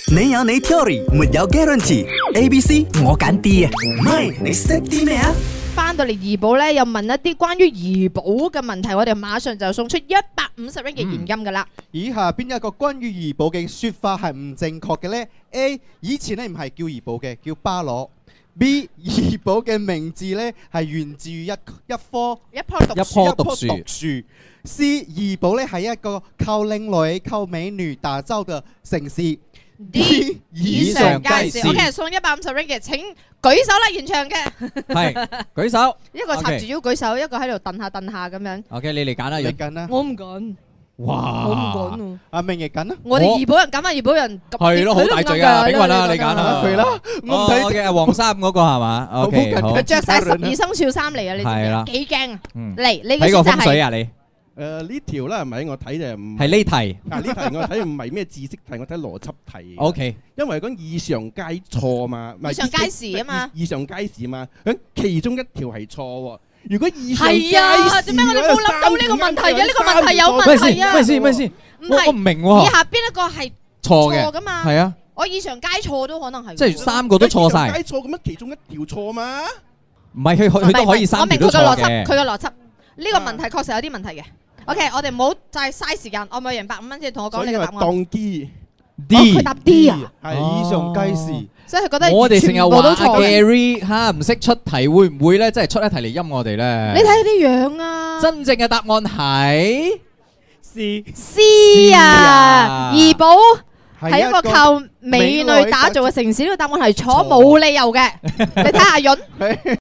你有你 theory，沒有 guarantee。A、B、C 我揀 D 啊，唔係你識啲咩啊？ 翻到嚟怡保咧，又問一啲關於怡保嘅問題，我哋馬上就送出150ringgit嘅現金噶啦。 以下邊一個關於怡保嘅説法係唔正確嘅呢？ A 以前咧唔係叫怡保嘅，叫巴羅。B 怡保嘅名字咧係源自於一棵讀樹。C 怡保咧係一個靠靚女、靠美女打造嘅城市。 D 以上皆是。OK， 送150 ringgit，請舉手啦，現場嘅。 係舉手。 一個插住腰舉手，一個喺度蹬下蹬下咁樣。 OK， 你嚟揀啦， 你揀啦。 我唔揀。 哇！ 我唔揀喎。 阿明亦揀啦。 我哋怡保人揀翻怡保人。 係咯，好大罪啊！炳雲啦，你揀啦。 佢啦。我唔睇嘅黃衫嗰個係嘛？OK，好。 佢着晒12生肖衫嚟啊！你係啦。 幾驚啊？嚟，你嘅選擇係。 睇個風水啊你。 呢條啦係咪？我睇就唔係呢題。 呢題我睇唔係咩知識題，我睇邏輯題。 OK。 因為講以上皆錯嘛， 以上皆是啊嘛。 以上皆是嘛，咁其中一條係錯喎。如果以上皆是， 係啊，點解我哋冇諗到呢個問題嘅？呢個問題有問題啊！ 咩先？我唔明喎。 以下邊一個係錯㗎嘛？ 係啊。 我以上皆錯都可能係。 即係3個都錯晒。 皆錯咁樣，其中一條錯嘛？ 唔係佢都可以3條都錯嘅。 佢嘅邏輯，呢個問題確實有啲問題嘅。OK， 我哋唔好再嘥時間，我咪贏150蚊先，同我講你嘅答案。 當 D， 佢答 D 啊， 係以上皆是。 所以佢覺得我哋成日話都錯 Gary 嚇唔識出題，會唔會咧？即係出一題嚟陰我哋咧？ 你睇啲樣啊！ 真正嘅答案係 C 啊！怡保係一個靠美女打造嘅城市，呢個答案係錯，冇理由嘅。你睇下潤。